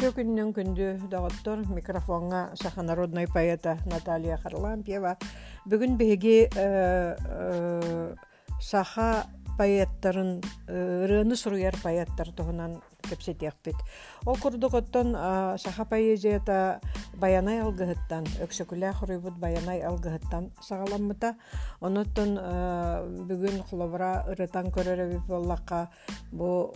күннен күнді доғыттыр микрофонға саха народной поэта Наталья Харлампьева. Бүгін беге саха поэттарын, рыны сұруяр поэттар тұғынан кепсетекпет. Ол күрдіғыттан саха поэзията баянай алғыттан, өксөкілі құрыбыт баянай алғыттан сағаламыта. Оныттан бүгін құлыбыра ырытан көрері боллаққа бұл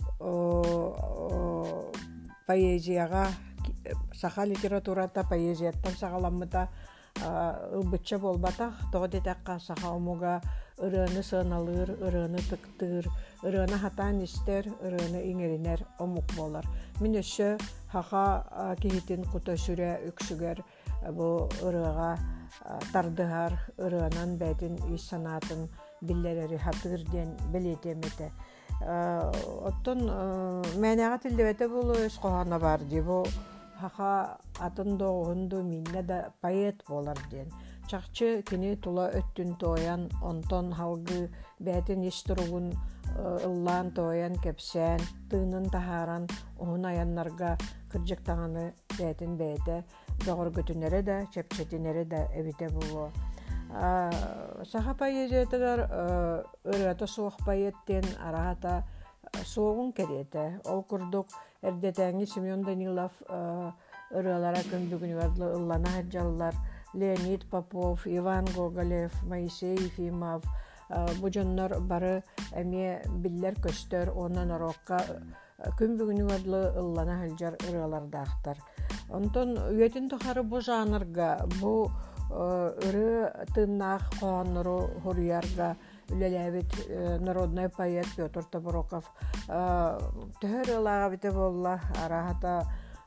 поэзияға, саха литературата поэзияттан сағаламыта ылбытча болбатақ, тоғы детаққа саха омуға ырыны сыналыр, ырыны тықтыр, ырыны хатан істер, ырыны иңерінер омук болар. Мен өші хақа кейтін құты сүрі үксігер бұл ырыға тардығар, ырынан бәйтін үй санатын биллерері хатырден білетеметі. Оттон мәнәға тілдебеті бұл өз қоғана бар деп, хақа атын доғынды минне да поэт болар ден. Чақчы кені тұла өттін тоян, онтон халғы бәтін естіруғын ыллан тоян кепсән, тыынын тахаран, оғын аяннарға кіржіктағаны бәтін бәйті, доғыр көтінері да, чәпчетінері да әбіте болу. Саха поэзиятығар ұраты соқ поэттен арағата соғын кереті. Ол күрдік әрдетәңі Семен Данилов ұралара күндігін вардлы ыллана хаджалылар, Леонид Попов, Иван Гоголев, Моисей Ефимов, bu jonlar bары әме биллер көстөр, онан орокка күн бүгүнү адlı ыллана халжар ыралардактар. Онтон үетін тухары бу жанрга, бу ыры тыннах коонору хуруярга үлеләбит народный поэт Петр Табуроков төһөр ылага бите болла арахата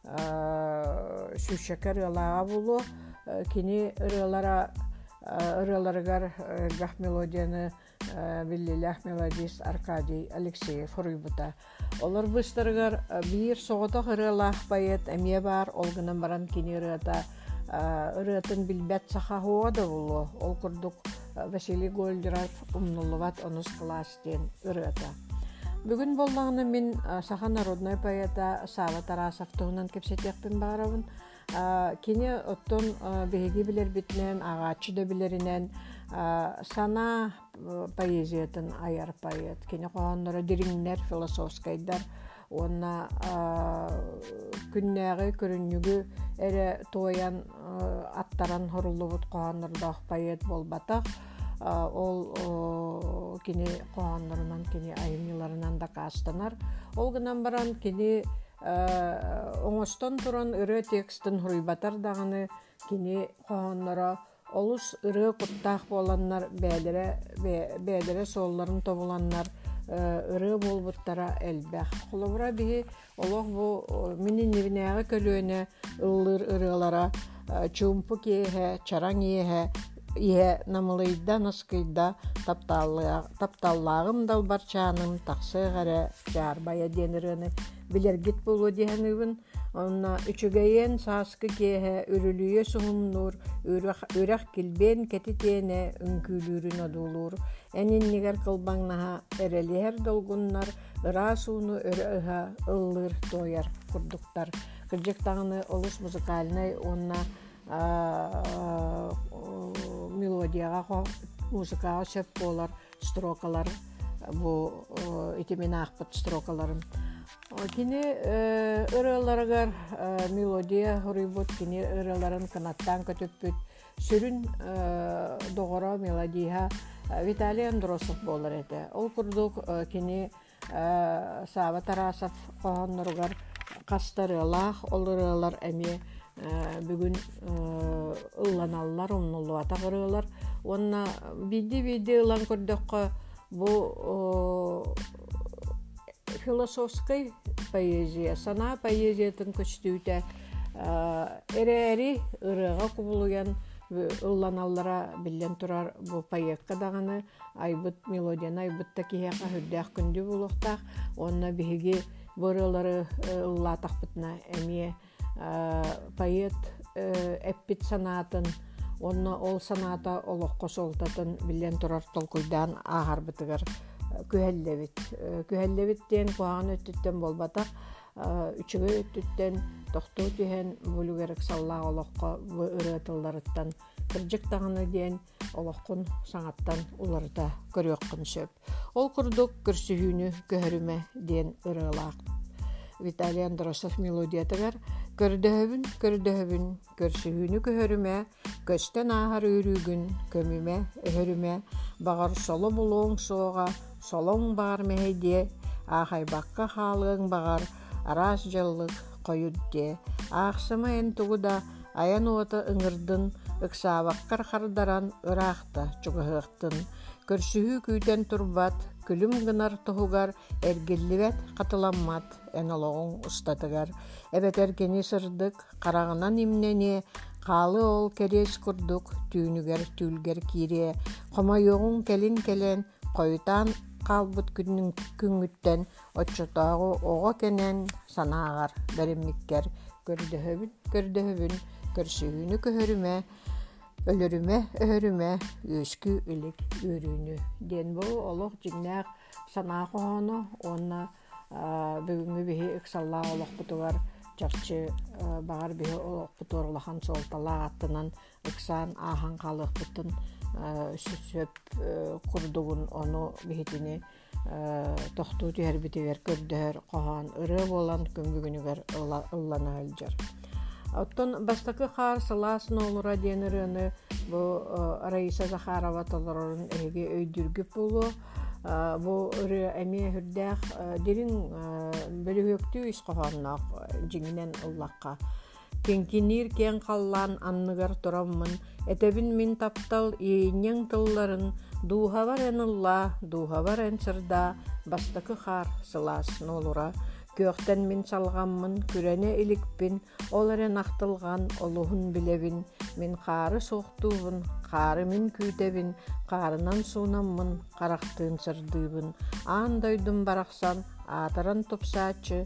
сүшекер ылага болу кини ырыларыгар гах мелодияны биллилях мелодист Аркадий Алексеев хуруйбута. Олар быстырыгар бир соғытақ ырылах поэт әме бар, олгынан баран кини ырыта ырытын билбет саха хуада болу. Ол күрдік Василий Гольдеров умнулыват онус кластен ырыта. Бүгін боллағыны мен саха народной поэта Сава Тарасов тұғынан кепсетекпін барабын. Кені оттон беги билер битнен, ағачы да билерінен сана поэзиятын аяр поэт. Кені қоғанлары дириннер, философскайдар, онна күннәғі көріннігі әрі тоян аттаран хорулы бұд қоғанлардағы поэт болбатақ. Ол кені қоғанларынан, кені айымныларынан да қастанар. Ол гынан баран кені оңостон туран ыры текстін хуруйбатар дағыны кені қоғанлара олус ыры құттақ боланнар бәдірі солларын тобуланнар ыры болбуттара әлбәқ. Құлыбыра бігі олық бұл менің невінәғі көлөне ыллыр ырылара чумпу кейе, чараң ие намылыйда наскыйда тапталлағым далбарчаным тақсы ғары жарбая деніріні білергет болу дегенігін. Онна үчігейен саскы кейе үрілүйе сұғымнур, өрәқ келбен кететене үңкүлүрін одулур. Әнен негер қылбаңнаға әрелер долгуннар, ыра суыны өріға ыллыр тояр күрдіктар. Кіржектағыны олыс музыкальный, онна мелодияға музыкаға сөп болар строкалар, бұл итемен ақпыт строкаларын. Кені ырыларығар мелодия хұрыбыт, кені ырыларын канаттан көтөппіт, сүрін доғыра мелодия Виталий Андросов болар әді. Ол күрдік кені Сава Тарасов қоғанларығар қастарылақ, ол ырылар әме бүгін ылланалар, оннылуата ғырылар. Онна биді ылан көрдіққа бұл философской поэзия, сана поэзиятын көстүйті әрі ырыға құбылуян ылланаллара білден тұрар бұл поэкка дағаны айбыт мелодияны айбытта кейеқа хүрдәқ күнді болуқтақ. Онна бігі бұрылары ыллатақ бұтына әме поэт әппет санатын, онна ол саната олыққа солтатын білден тұрар толкуйдан ағар бұтығар күхәлләбит. Күхәлләбиттен қуаған өттіттен болбатақ үчүгө өттүттен тохтуу түһэн булугерек саллаа олоққа бу ырыатылларыттан кырдьык таҕына диэн олоққун саҥаттан уларыта көрүөккүн сөп. Ол курдук көрсүһүүнү көһөрүмэ диэн ырыалаах Виталий Андросов мелодиятыгар көрдөһөбүн көрсүһүүнү көһөрүмэ көстен аахар үрүүгүн көмүмэ өһөрүмэ багар соло булуң суоҕа солоң баар мэһэдие аахайбакка хаалыаң багар араас дьаллык койут дие аахсыма эн тугуда аян уота ыҥырдын ыксаабаккар хардаран ыраахта чугаһыахтын көрсүһүү күүтэн турбат күлүм гынар туһугар эргиллибэт хатыламмат эн олоҕуҥ устатыгар эбэтэр кини сырдык хараҕынан имнэниэ хаалы ол кэриэс курдук түүнүгэр түүлгэр киирие хомойуоҕуҥ кэлин кэлэн койутаан хаалбыт күҥҥүттэн оччотоогу оҕо кэнэн санааҕар бэриммиккэр көрдөһөбүн көрсүһүүнү көһөрүмэ өлөрүмэ өһөрүмэ үөскү илик үөрүүнү диэн бу олох дьиҥнээх санаа хоһоону уонна бүгүҥҥү биһи ыксаллаа олохпутугар чарчы багар биһи олохпутугар улахан суолталаа аттынан ыксаан аахан хаалыахпытын сөп курдугун ону биһитини тохтуу түһэрбитигэр көрдөһөр коһоон ырыа буолан көмбүгүнүгэр ылланаалдьар. Оттон бастакы хаар салаас ноолура диэн ырыаны бу Раиса Захарова толорун эһиги өйдүргүп булу бу ыры эмиэ хүрдээх дирин бөлүһүөктүү ис коһоонноох дьиҥнэн ыллакка кеңкинир кең халлаан анныгар тураммын этэбин мин таптал иинньяң тылларын дуухабар эн ылла дуухабар эн сырдаа бастакы хаар салаас ноолура Күөхтэн мин салғаммын, күрәне иликпин, ол эрен ақтылған, олуғын білебин, мин қары соқтуыбын, қары мин күйтебин, қарынан суунаммын, қарақтын сырдыыбын, аандойдun барақсан, атыран топсаачы,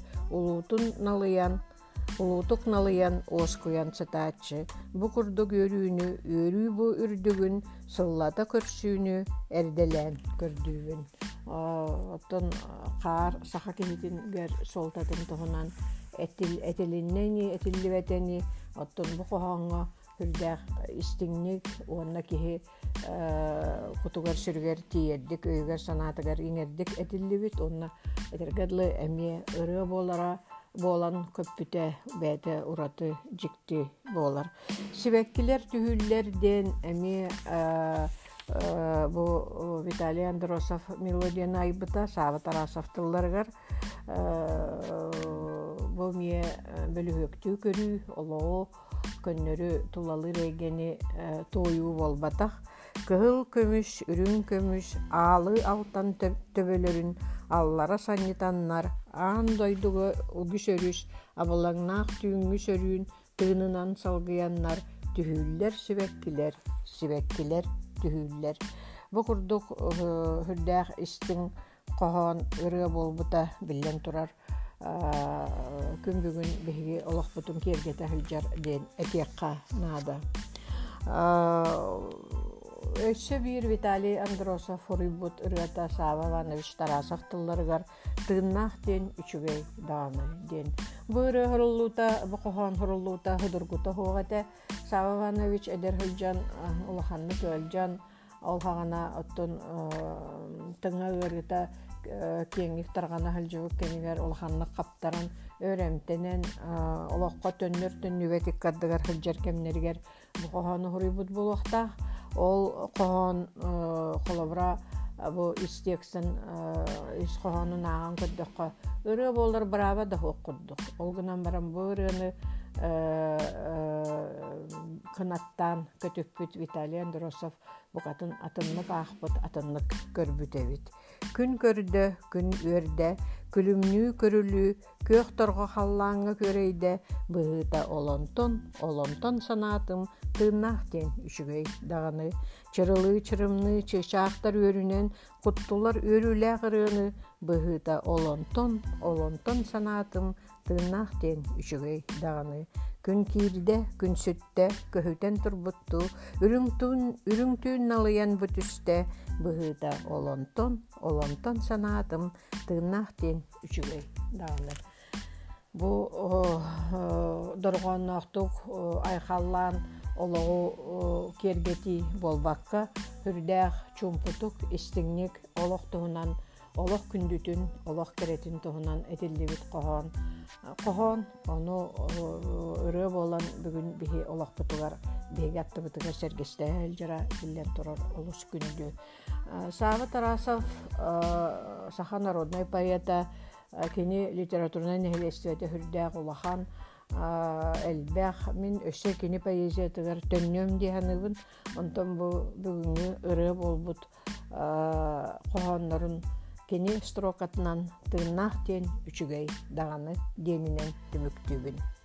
улуутук налыян, оскуян сытаачы, бу курдук өрүүнү, өрүү бу үрдүгүн, сыллата көрсүүнү, эрделен көрдүүбүн. Оттон қар саха кехитин гер солтатын туһунан этилиннени этилливетени оттон бу коһоңго хүрдэх истиңник уонна кихи кутугар сүргер тиердик өйгер санаатыгар иңердик этиллибит онна этергедлы эмие ырыа болан көппүтэ бэте ураты жикти болар. Сибеккилер түһүллер ден эмие бу Виталий Андросов мелодияны айбыта Сава Тарасовтылларгар бу мие бөлүһөктүү көрүү олоо көннөрү тулалы регени тойуу болбатах кыһыл көмүш үрүн көмүш аалы алтан төбөлөрүн аллара саннитаннар аан дойдуга угүс өрүс абалаңнаах түүңүс өрүүн тыынынан салгыяннар түһүүллер сибеккилер түһүүллер. Бу курдук хүрдээх истиң коһоон ырыа болбута биллен турар күн бүгүн биһиги олохпутун киэргете хылдьар диэн этиэкка наада. Өссө биир Виталий Андросов хуруйбут ырыата Сава Иванович Тарасов тылларыгар тыыннаах диэн үчүгэй дааны диэн. Бу ырыа хуруллуута, бу коһоон хуруллуута худургута хуогате Сава Иванович эдер хылдьан улаханны көлдьан ол хагана оттон тыңа ырыта кеңик таргана хылдьыбык кенигер улаханны каптаран өрөмтенен олоққа төннөр төннүбетик кардыгар хылдьар кемнергер бу коһоону хуруйбут булуохта ол коһоон холобра бу истексэн ис коһоонун ааган көрдөккө ырыа боллар браба да хуоккурдук ол гынан баран бу ырыаны кынаттан көтөппүт Виталий Андросов букатын атыннык аахпыт атыннык көрбүтебит. Күн көрдө, күн өрдө, күлүмнүү көрүлүү, көөх торго халлааңа көрөйдө, быһыта олонтон санаатым тыыннаах диэн үчүгэй даганы. Чырылыы чырымны чыачаахтар өрүнен куттулар өрүүлээх ырыаны быһыта олонтон санаатым тыыннаах диэн үчүгэй даганы. Күн киирде, күн сүттэ, көһүтэн турбутту, үрүңтүүн налыян бүтүстэ, быһыта олонтон санаатым тыыннаах диэн үчүгэй даганы. Бу доргонноқтук айхаллаан олоғу кергети болбаққа хүрдәқ чумпутук истиңник олох туһунан олох күндүтүн олох керетин туһунан этиллибит коһон ону өрө болан бүгүн биһи олохпутугар биһиги аттыбытыгар сергестээл жара биллен турар олус күндү. Сава Тарасов саха народной поэта кини литературный нехилестиэте хүрдәқ улахан элбэх мин өссө кини поэзиятыгар төннөм диһаныбын онтон бу бүгүнгү ыры болбут коһоннорун кини строкатынан тыыннаах тиэн үчүгэй даганы диэнинен түмүктүүбүн.